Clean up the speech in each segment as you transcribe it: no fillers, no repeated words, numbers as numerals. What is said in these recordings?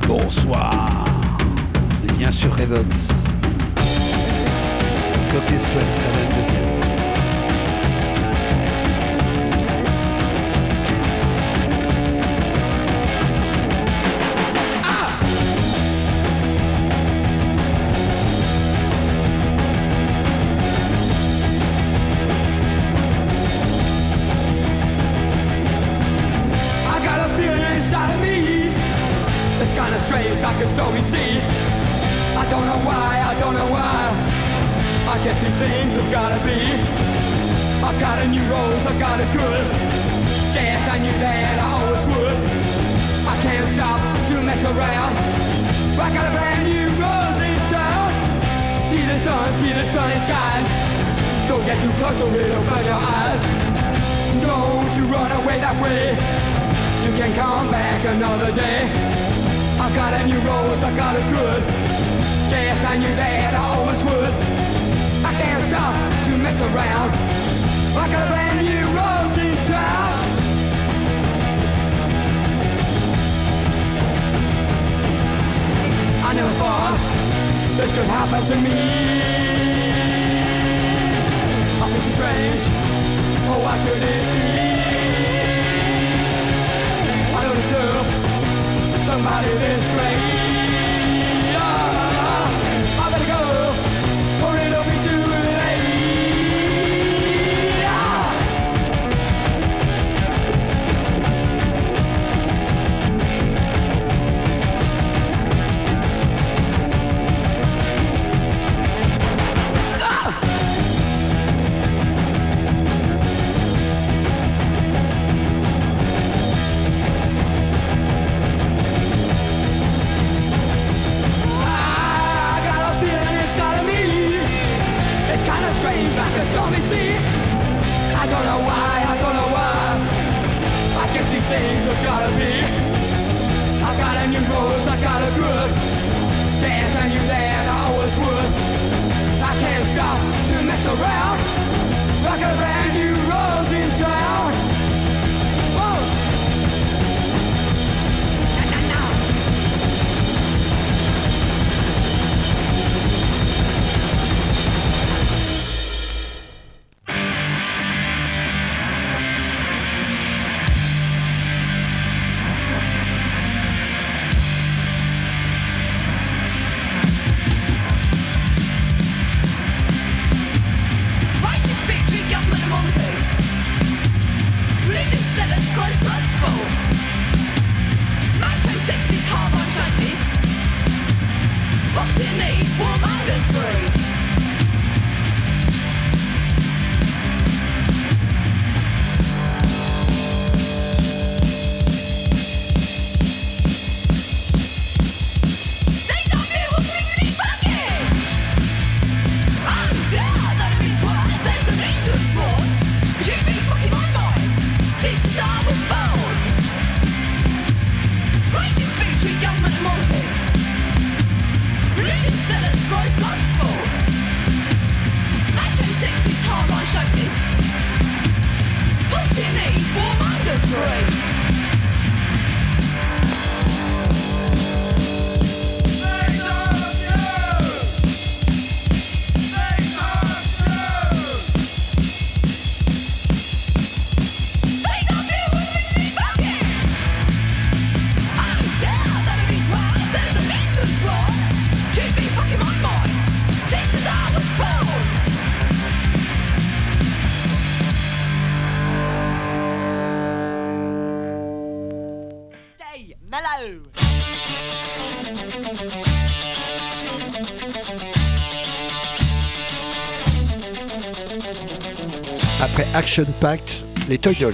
Bonsoir. Et bien sûr Revox. Copy Spell, très bonne deuxième. Strange like a stormy sea. I don't know why. I guess these things have gotta be. I've got a new rose, I've got a good. Yes, I knew that I always would. I can't stop to mess around. I got a brand new rose in town. See the sun it shines. Don't get too close or it'll burn your eyes. Don't you run away that way. You can come back another day. I got a new rose, I got a good. Yes, I knew that I always would. I can't stop to mess around. I got a brand new rose in town. I never thought this could happen to me. I feel so strange. Oh, why should it be? I don't deserve somebody this great. I better go, or it'll be too late. Strange like a stormy sea. I don't know why. I guess these things have gotta be. I got a new rose, I got a good. Yes, I knew that I always would. I can't stop to mess around. I got a brand new rose in town. Whoa. Après Action Pact, les Toy Dolls.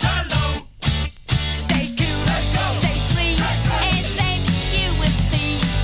Stay cool, stay free, and then you will see.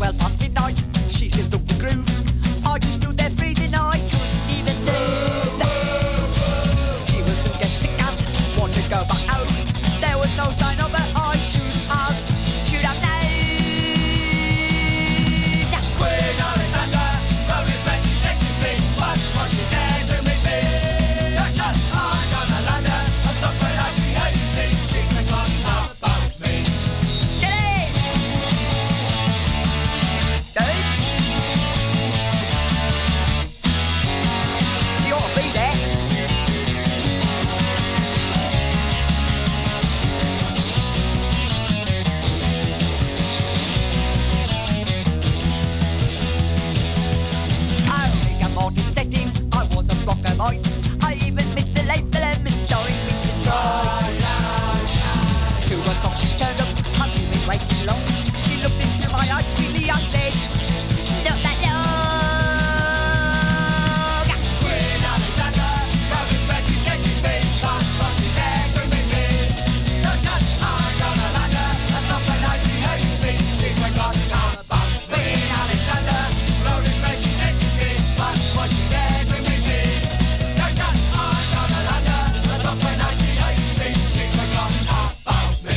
well past midnight. She still took the groove. I just stood there freezing, I couldn't even move. She will soon get sick and want to go back home. There was no sign of her, I should have known. Queen Alexander wrote this message said to me, but what she dared to meet me. Not just I'm gonna land her, and look when I see her, you see, she's forgotten about me. Get in! Dave? She ought to be there. Mortis setting, I was a block of ice. I even missed the late film and starring Vincent Price. 2 o'clock she turned up, hadn't been waiting long. She looked into my eyes, sweetly I said, not that long. Queen Alexander wrote this message said to me, but what she dared to meet me. No touch, I'm gonna land her, and look when I see her, you see, she's forgotten all about me. Queen Alexander wrote this message said to me, but what she dared to meet me. No touch, I'm gonna land her, and look when I see her, you see, she's forgotten all about me.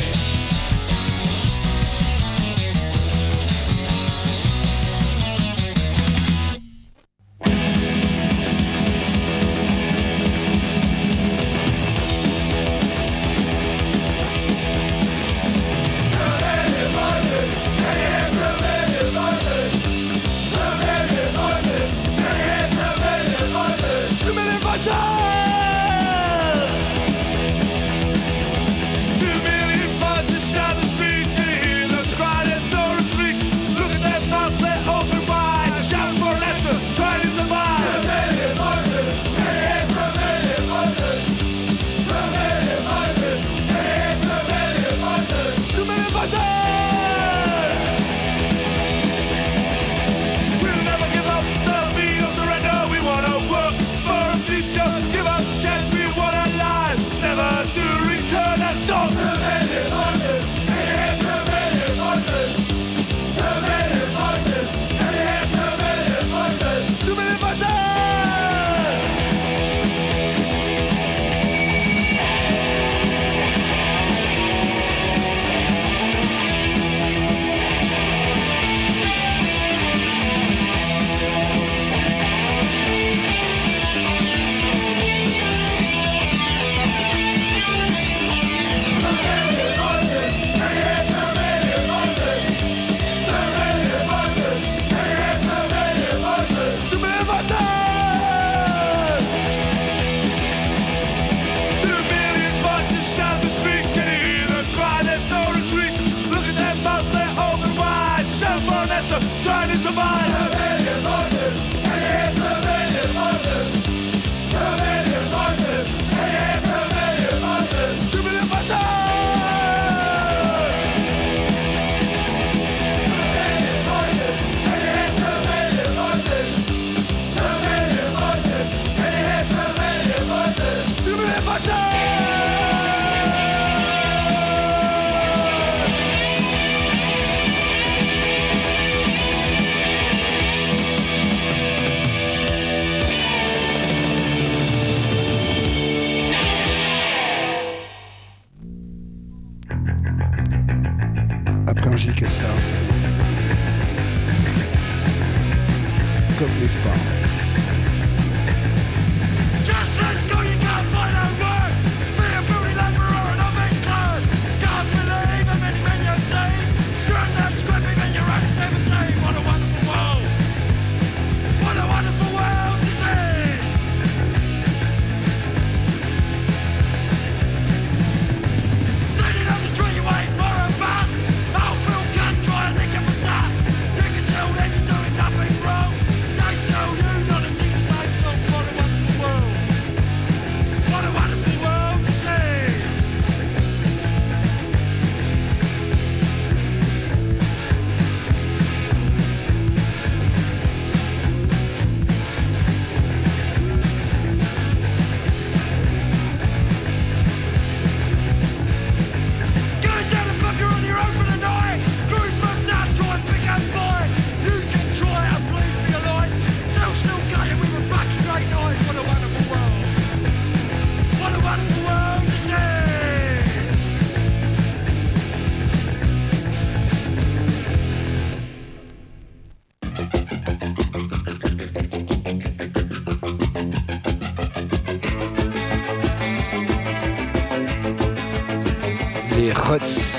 Trying to survive. A million voices, and it's a million voices. 2 million voices, and it's a million voices. 2 million voices. 2 million voices, and it's a million voices. 2 million voices, and it's a million voices. 2 million voices. Upcountry Stars. Comme les sports. Just let's go, you can't find a word. Be a fruity laborer and I'll make clear. Can't believe how many men you've seen. You're not scribbling and you're only 17. What a wonderful world. What a wonderful world to see. Standing on the street, you wait for a bus. Old Bill can't try and lick up a sass. You can tell that you're doing nothing wrong. They tell you Crutz.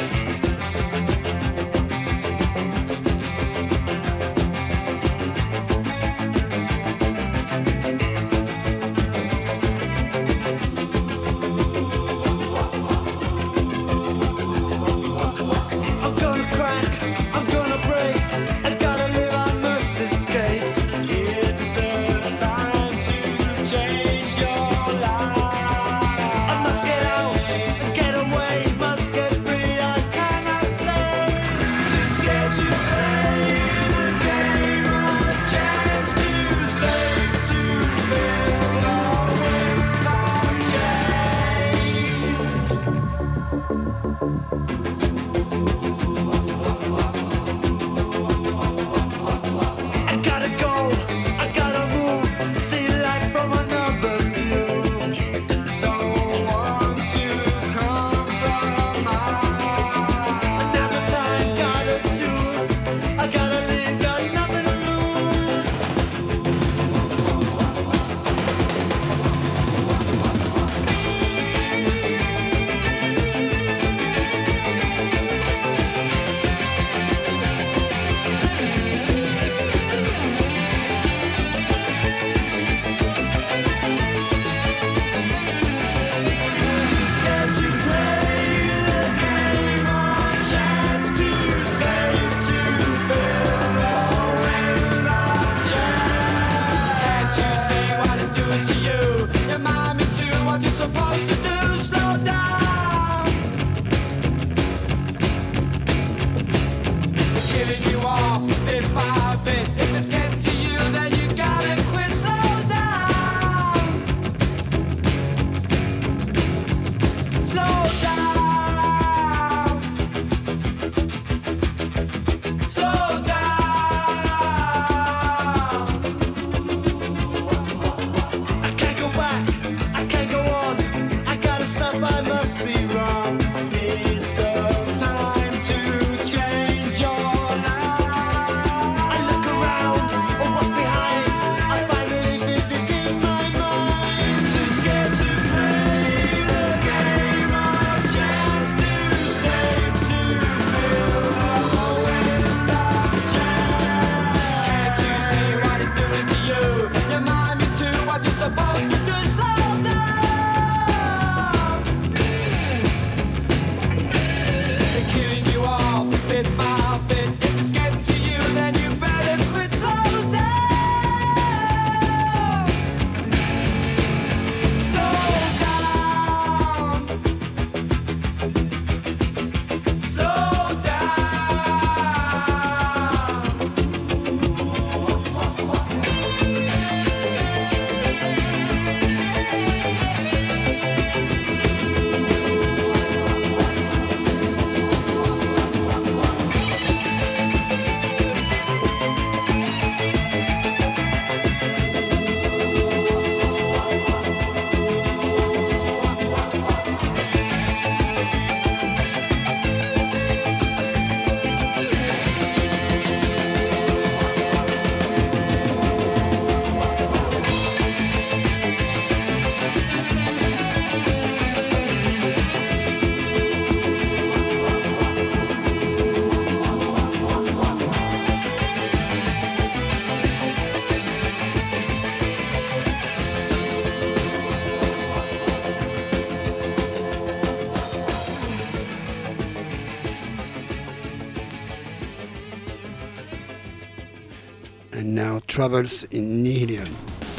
And now Travels in Nihilium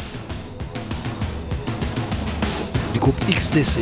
du groupe XTC.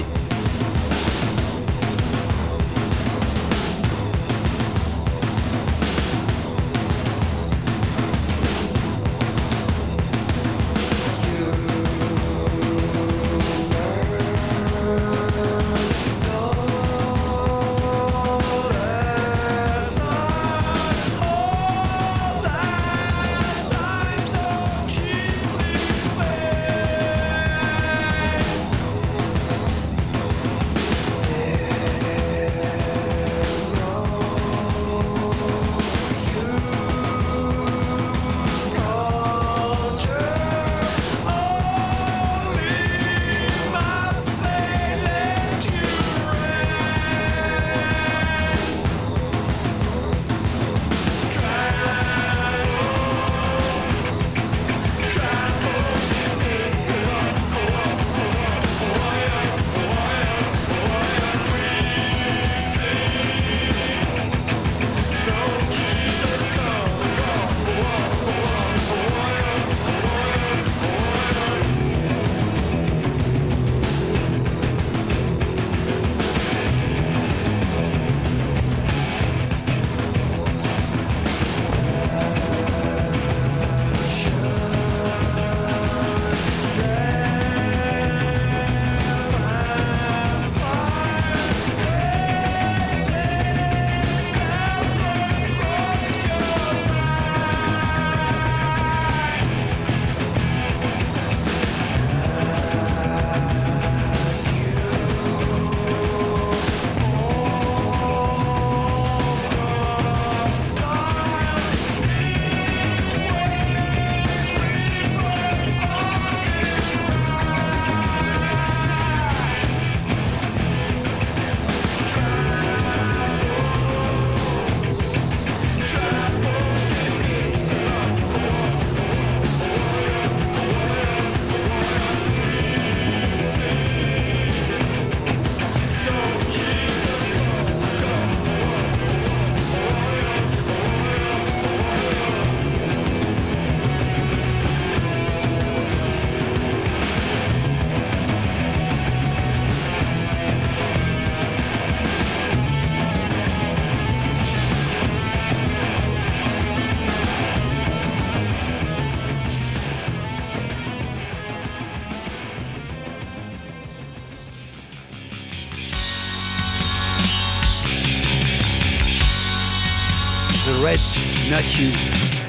Yes, not you.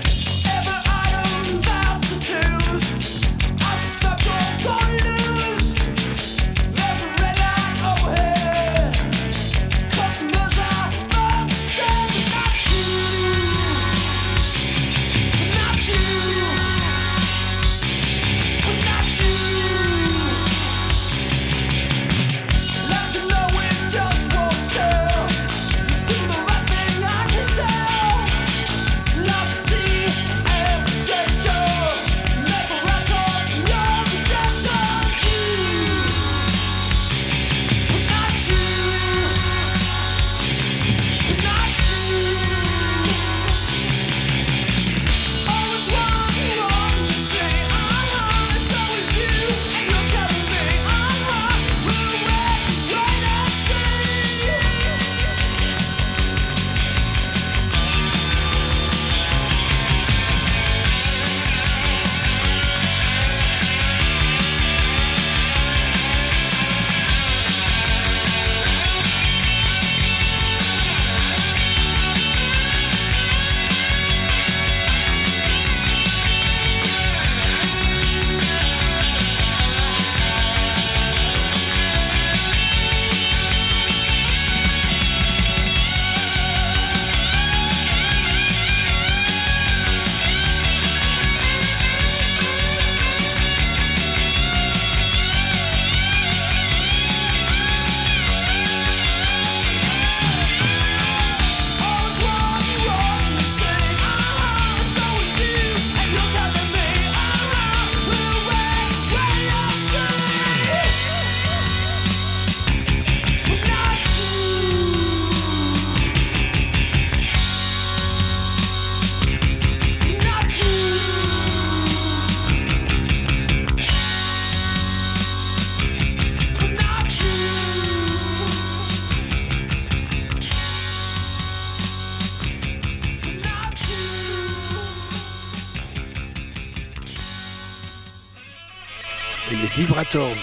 Vibrators,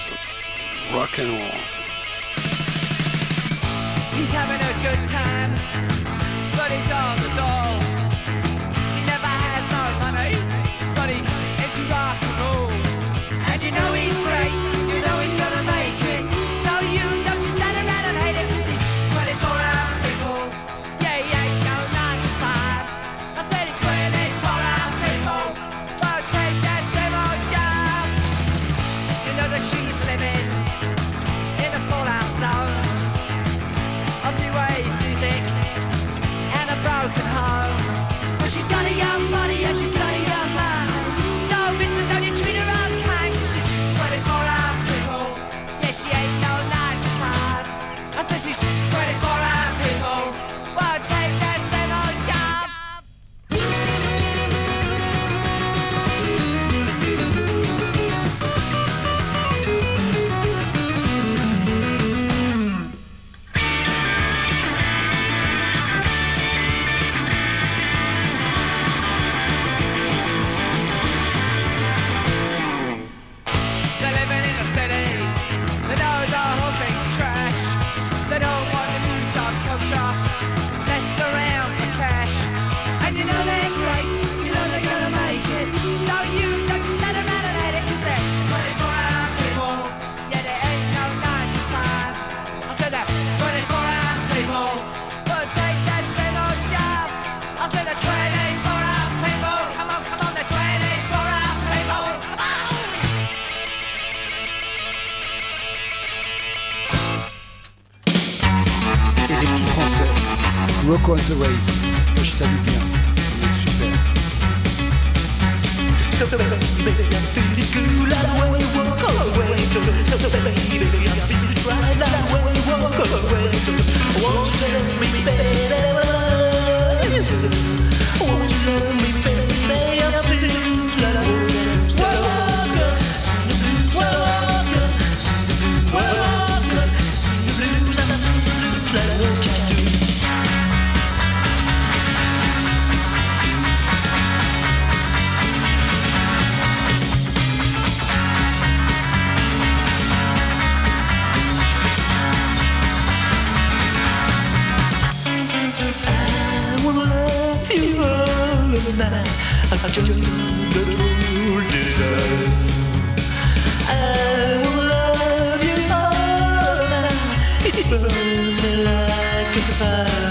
rock and roll. He's having a good time, but he's on the dole. He never has no money, but he's into rock and roll. And you know he's great, you know he's gonna make it. So you don't just stand around and hate it, 'cause he's 24-hour people. Yeah, he ain't no 9 to 5. I said he's 24-hour people. Won't take that demo job. You know that she's living in a fallout zone of new wave music and a broken home. But she's got a young body and she's got a young mind. So listen, don't you treat her unkind, 'cause she's 24-hour people. Yeah, she ain't no 9 to 5. I said she's 24-hour people. Won't take that same old job. They're living in a city. They know the whole thing's trash. They don't want the new subculture messed around for cash. And you know they're great. You know they're gonna make it. So you don't just stand around and hate it, 'cause they're 24-hour people. Yeah, they ain't no 9 to 5. I said that 24-hour people. But take that same old job. I said that 24-hour people. Come on, they're 24-hour people. Come on. Et les petits français, Rock on the Waves, je salue bien, super. So baby, I'm feeling good like the way you walk away. So baby, I'm feeling right like the way you walk away. Won't you tell me, baby, won't you love me, baby? I'm feeling like the way you walk away. Sing the blues, walk away. Sing the blues, walk away. Sing the blues, I'm singing the blues like the way you do. I wanna love you I just got old desire. I will love you all night. It burns me like a fire.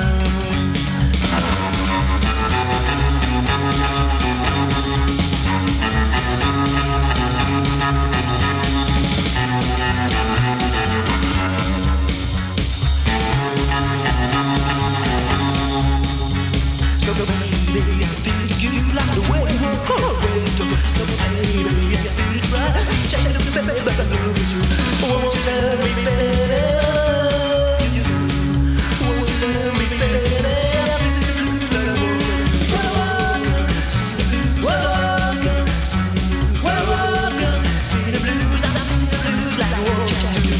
So baby, I feel you like the way you walk away. So baby, I feel it right. Shine up, baby, I love you. Won't you love me better? Won't you love me better? See the blues, I see the blues like a walk.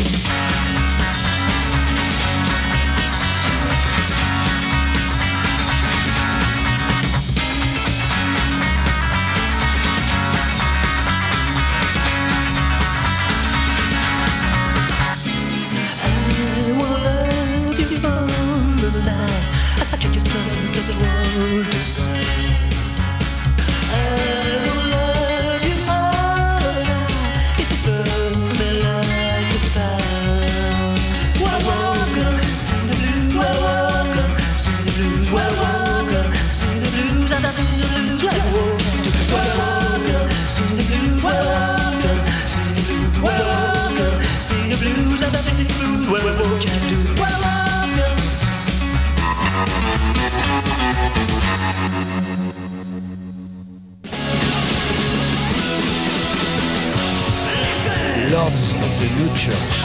Lords of the New Church.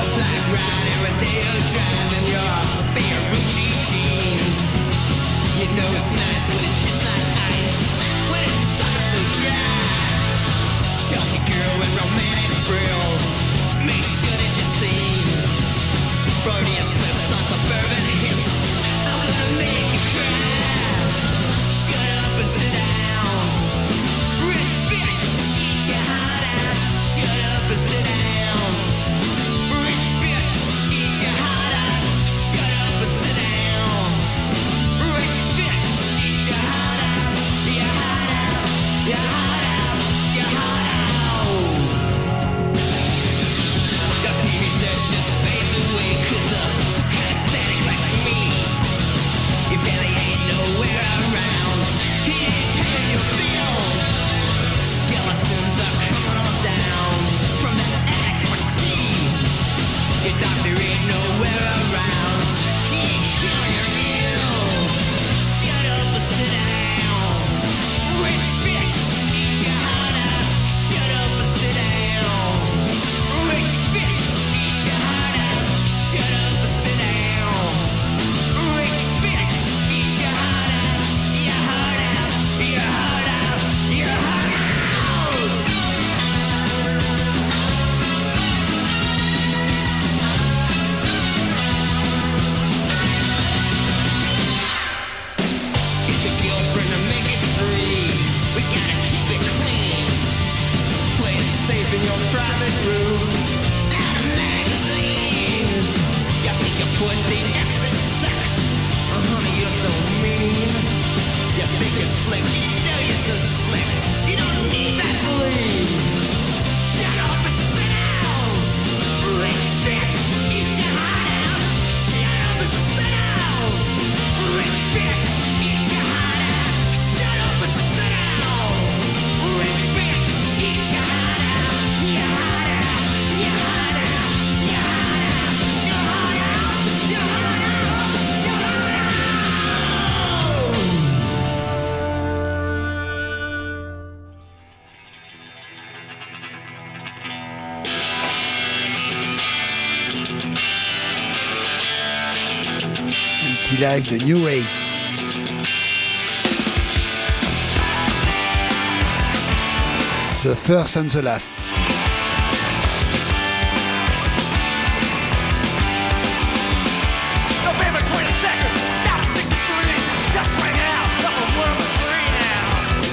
You know it's nice when it's just like ice. When it's sucks so dry. Chelsea girl with romantic frills. Make sure that you see Freudian slips on suburban hips. I'm gonna make you cry. Shut up and sit down. Rich bitch, eat your heart out. Shut up and sit down. Rich bitch, eat your heart out. Shut up and sit down. Rich bitch, eat your heart out. Your heart out. Your heart out. Your heart out. Your TV set just fades away 'cause some kind of static like me. Your belly ain't nowhere around. He ain't paying your bill. Skeletons are coming on down from the attic for tea. Your doctor ain't nowhere around. He ain't killing your meals. Shut up and sit down. Rich bitch, eat your heart out. Shut up and sit down. Rich bitch, eat your heart out. Shut up and sit down. Rich bitch, eat your heart out. Your heart out. Your heart out. Your heart out. Get your girlfriend to make it free. We gotta keep it clean. Play it safe in your private room. Out of magazines. You think you put the X in sex? Honey, you're so mean. You think you're slick? You know you're so slick. You don't need Vaseline. Shut up and sit down. Rich bitch, eat your heart out. Shut up and sit down. Rich bitch, eat your heart out. Shut up and sit down. Rich bitch, eat your heart out. Your heart out. Your heart out. Your heart out. Your heart out. Your heart out. Your heart out. Anti-Life de New Race. The First and the Last. November 22nd, 1963. Shots ring out. Double world is free now.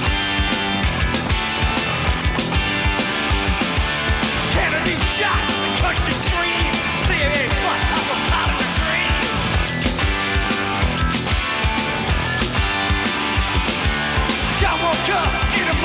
Kennedy shot. The country scream. CIA plot. That's a part of the dream. John woke up in the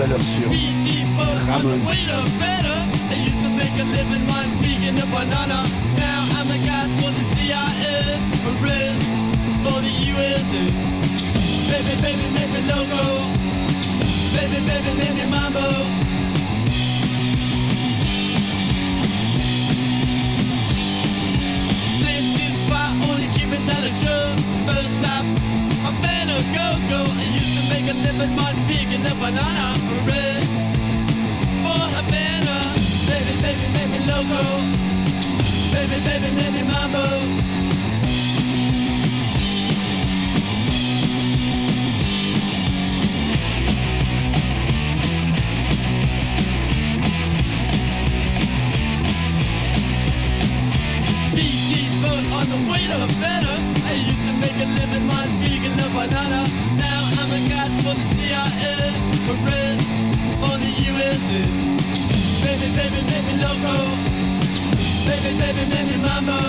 l'heure sur Ramones. Baby, baby, make me loco. Baby, baby, make me mambo. Safety spot, only keep it till the truth. First stop, I'm better go-go. I used to make a living on picking the banana bread for Havana. Baby, baby, make me loco. Baby, baby, make me mambo. On the way to Havana, I used to make a living on vegan the banana. Now I'm a guy for the CIA, for red for the USA. Baby, baby, make me loco. Baby, baby, make me mambo.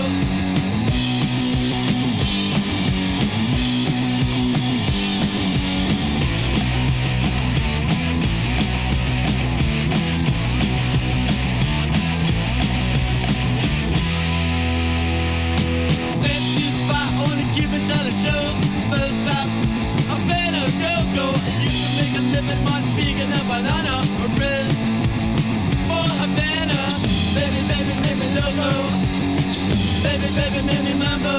Living on vegan and banana bread for Havana. Baby, baby, make me loco. Baby, baby, make me mambo.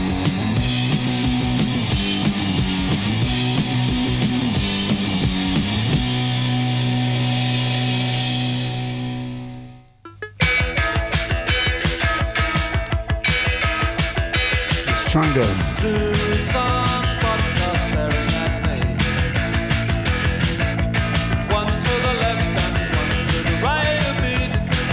Strangle. Two sunspots are staring at me. One to the left and one to the right of me.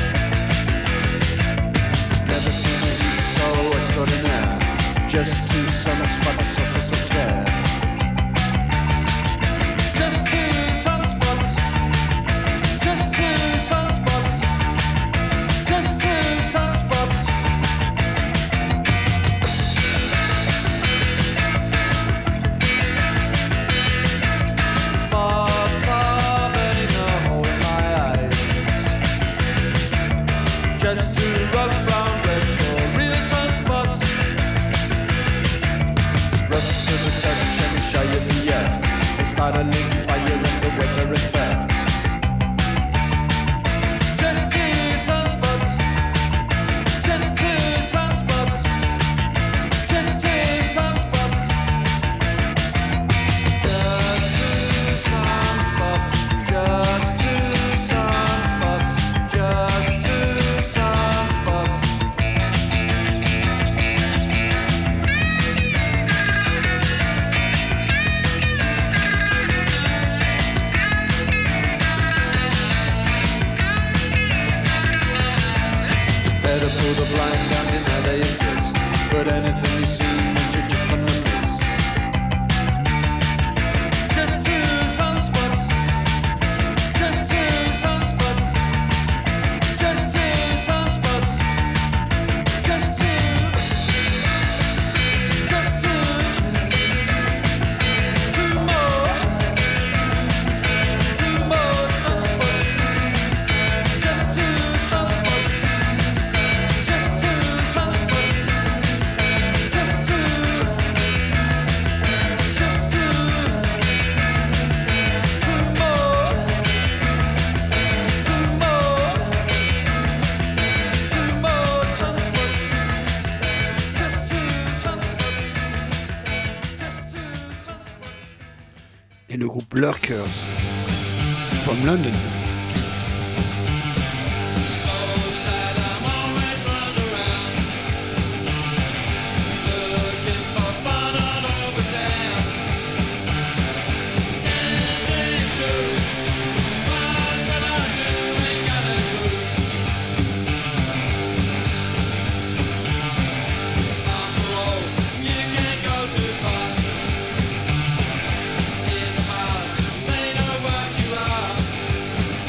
Never seen a heat so extraordinaire. Just two sunspots so scared. Just two sunspots. Just two sunspots. Just two sunspots. Just two rough brown red or real sunspots. Rough to the touch and shy in the air. They start a ling fire and the weather is fair. Just two sunspots. Just two sunspots. Just two sunspots. Just two sunspots. Just two sunspots. Just two sunspots. Better pull the blind down, deny they exist. But anything you see, you're just gonna miss. Just two sunspots. Just two sunspots. Just two sunspots. Just two. Just two. Two more. Two more sunspots. Just two sunspots. Just two sunspots. Just two. Just two. Two more. Two more. Two more sunspots. Just two sunspots. Just two sunspots. Et le groupe Lurk from London. In the past, they know what you are.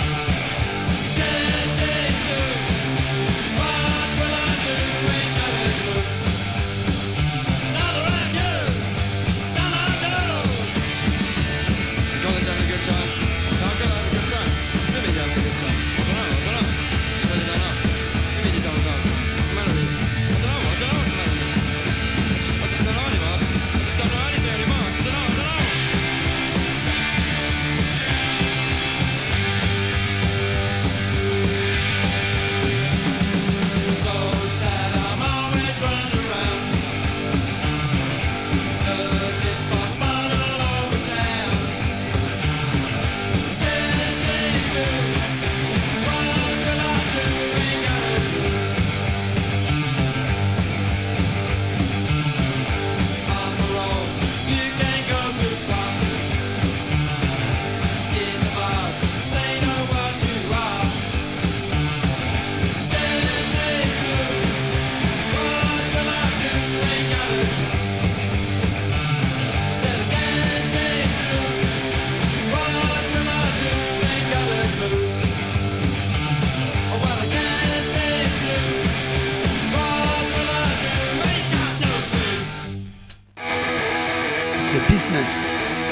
Madness.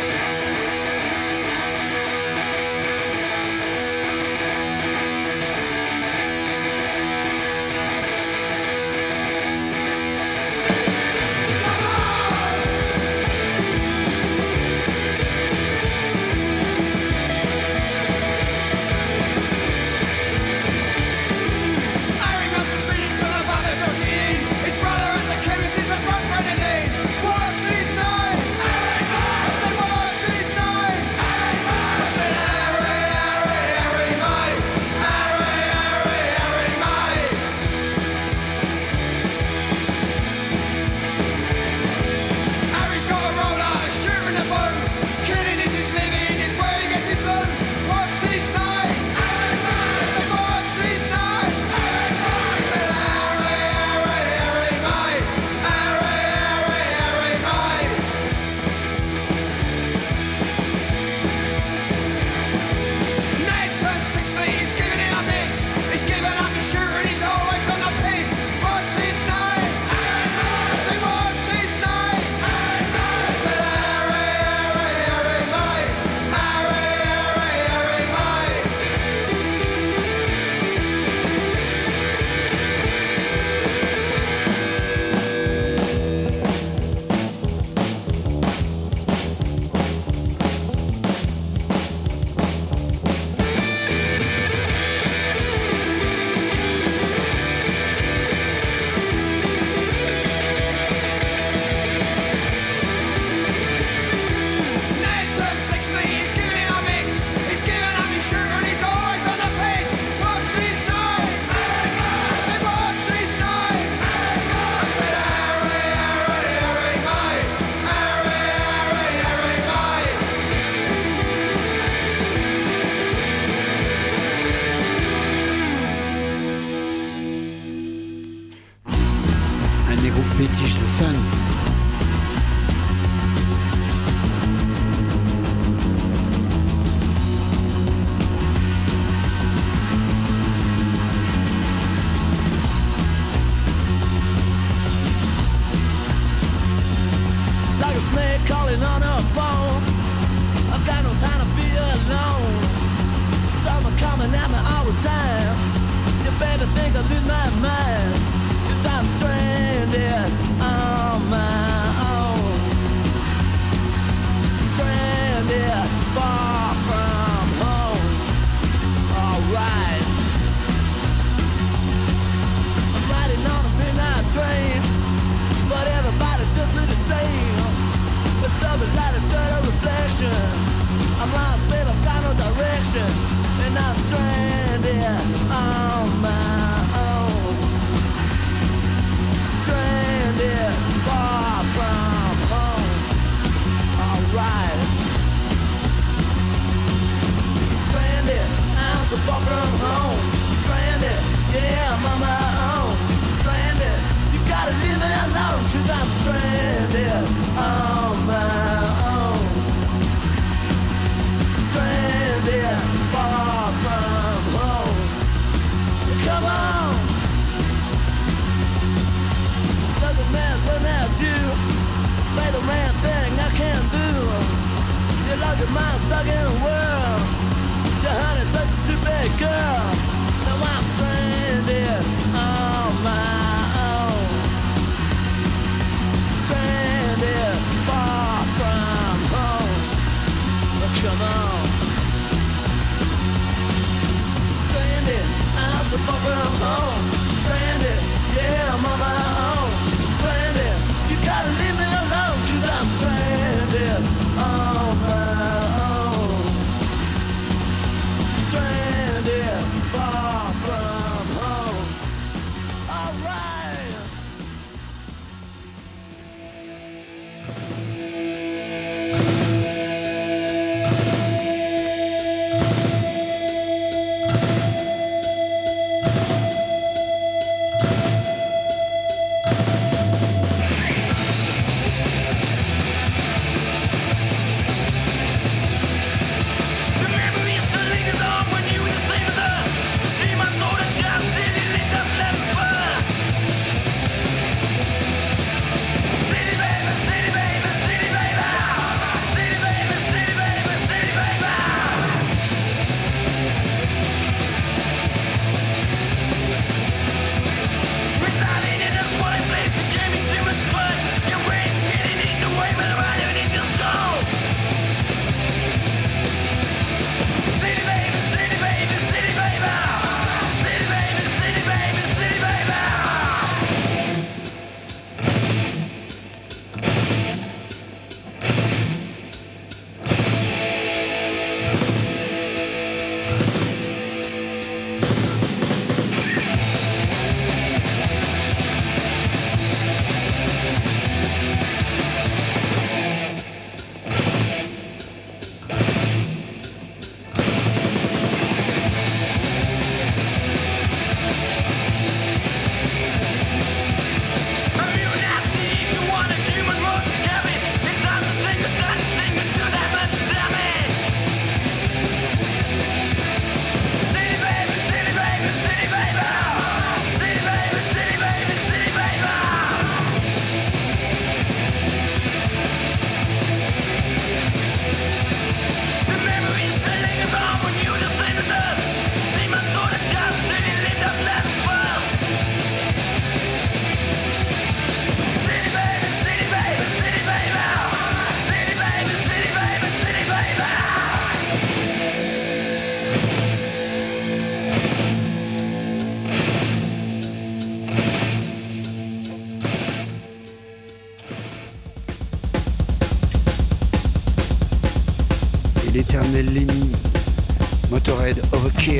Fétiche The Sons. Like a snake calling on a bone. I've got no time to be alone. Someone coming at me all the time. You better think I lose my mind. 'Cause I'm stranded on my own. Stranded far from home. Alright. I'm riding on a midnight train, but everybody does look the same. With something like a dirty reflection. I'm lost, babe, I've got no direction. And I'm stranded on my own. Stranded far from home. Alright. Stranded, I'm so far from home. Stranded, yeah, I'm on my own. Stranded, you gotta leave me alone. 'Cause I'm stranded on my own. Stranded far from home. Come on. Doesn't man run at you. Play the man thing I can't do. You lost your mind stuck in a world. Your honey's such a stupid girl. Now I'm stranded on my own. Stranded far from home. Come on. Stranded, I'm so far from home. Stranded, yeah, I'm on my own. Stranded, you gotta leave me alone. 'Cause I'm stranded on my own. Stranded far from home. Alright. l'éternel Lenny, Motorhead Overkill.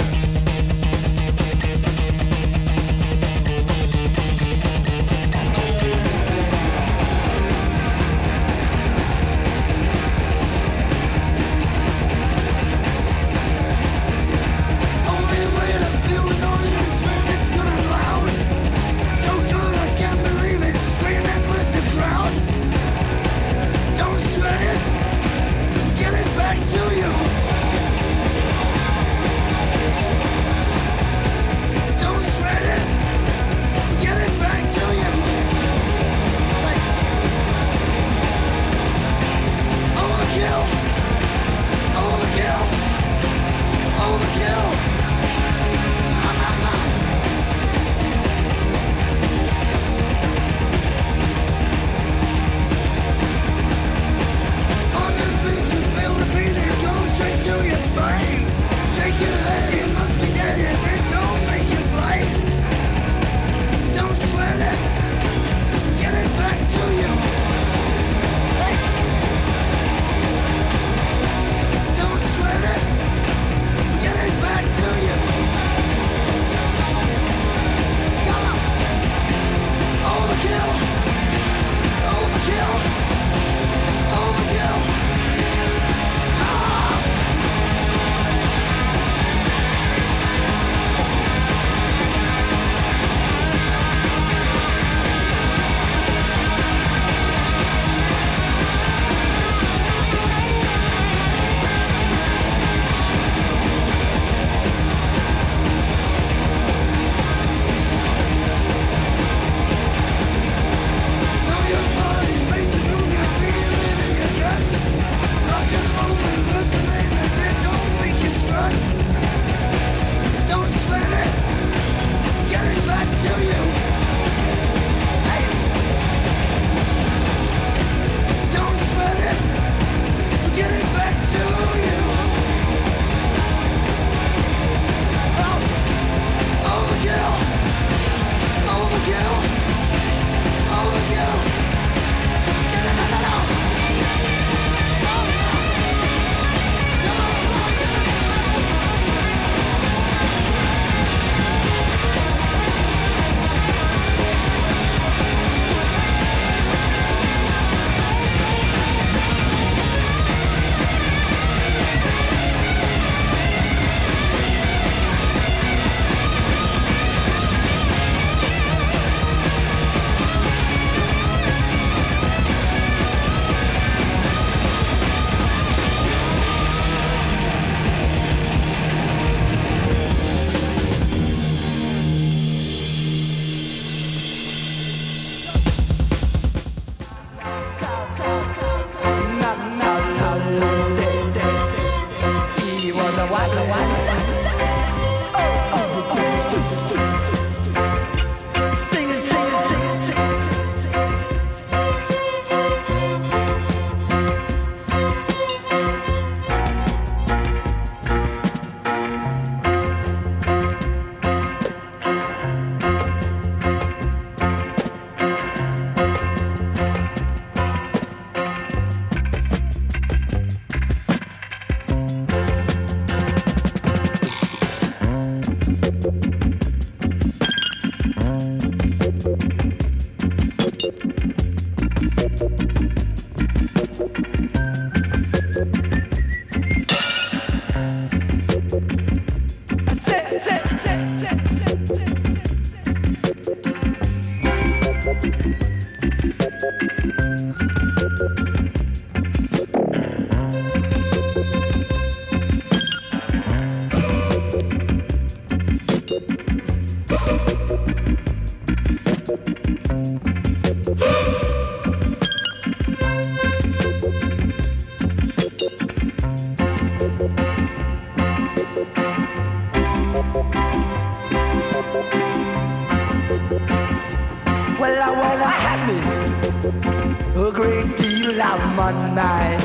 a great deal of money.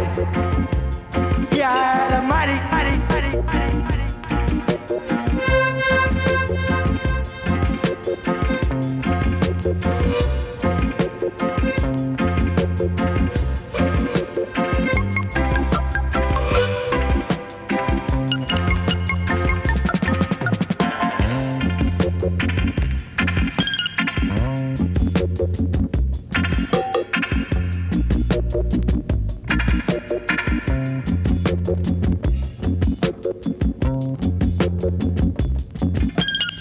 Yeah, the money.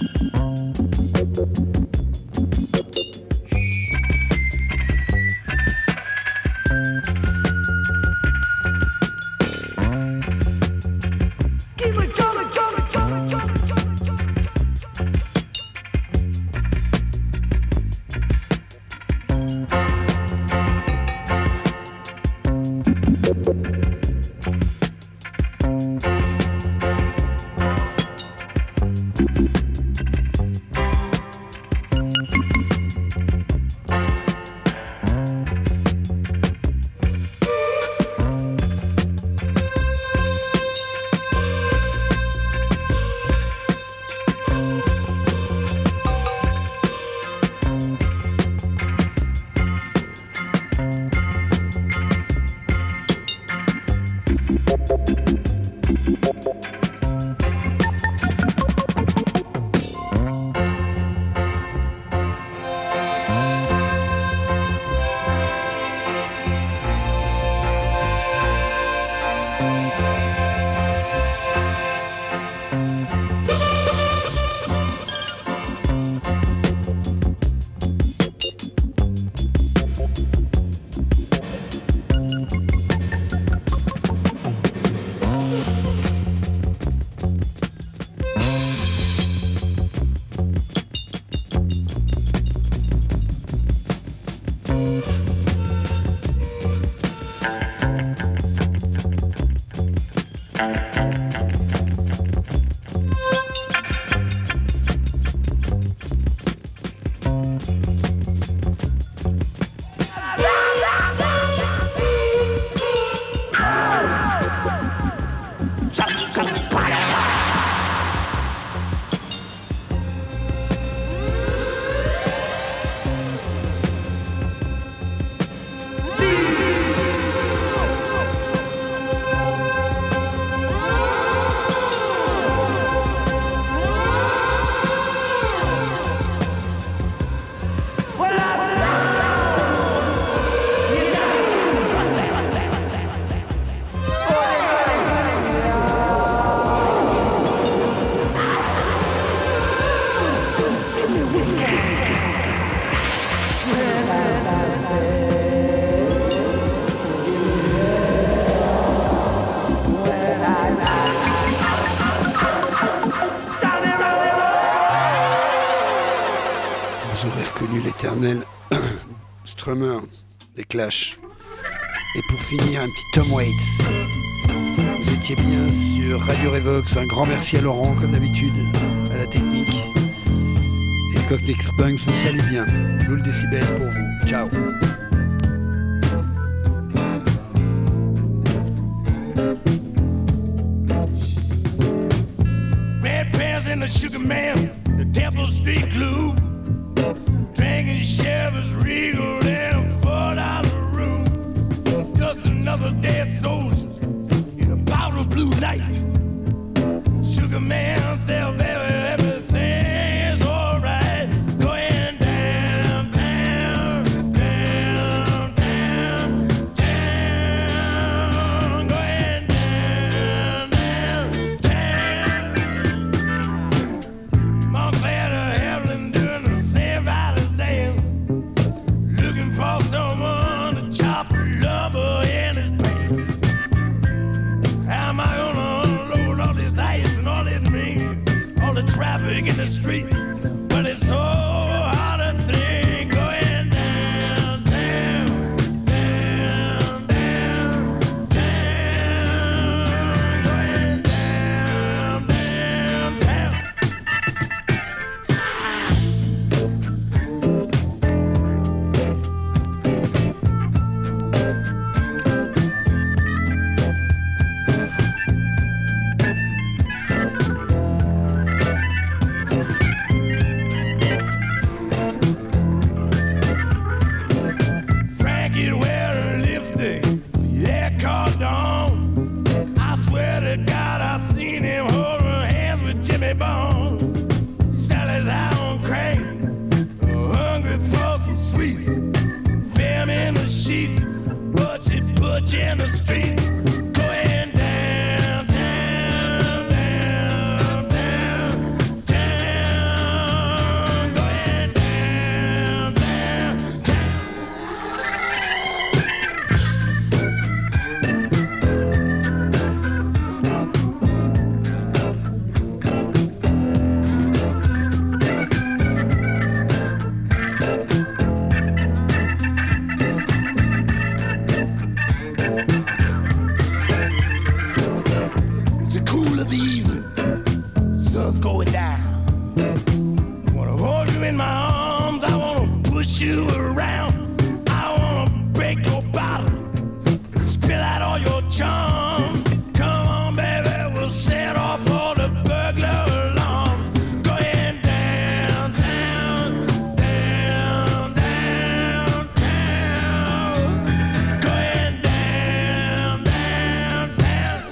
Strummer des Clash. Et pour finir, un petit Tom Waits. Vous étiez bien sur Radio Revox. Un grand merci à Laurent, comme d'habitude, à la technique. Et Cockney Punks, vous salez bien. Loul Décibel pour vous. Ciao. Red Bears and the Sugar Man, the Temple Street Clue. Drinking Chevys Regal and a $4 room. Just another dead soldier in a powder blue night. Sugar Man said, baby, everything's alright. Going down, down, down, down, down. Going down, down, down. Montclair to Evelyn doing the same Riders dance. Looking for someone to chop lumber in his pants. How am I gonna unload all this ice and all this mean? All the traffic in the streets. But it's so hard to think. Going down, down, down, down, down. Going down, down, down. you around. I wanna break your bottle, spill out all your charm. Come on, baby, we'll set off all the burglar alarms. Go ahead downtown, down, downtown. Go ahead down, downtown.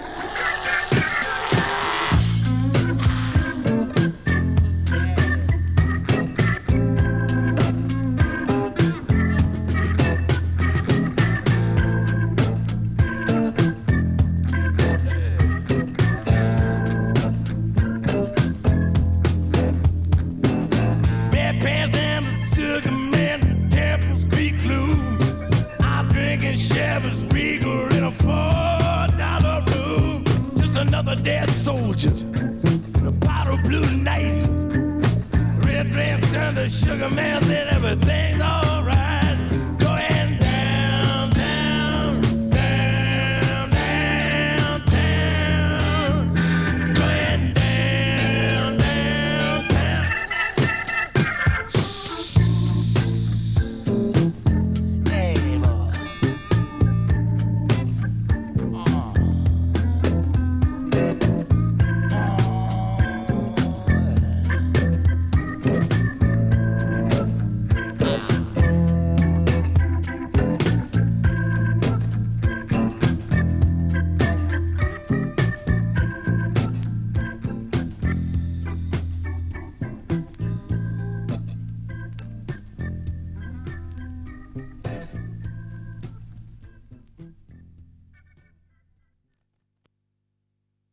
Red pants and the sugar man, Temple Street Gloom. I'm drinking Chevys Regal in a $4 room. Just another dead soldier in a bottle of blue tonight. Red pants turned to sugar man, said everything's all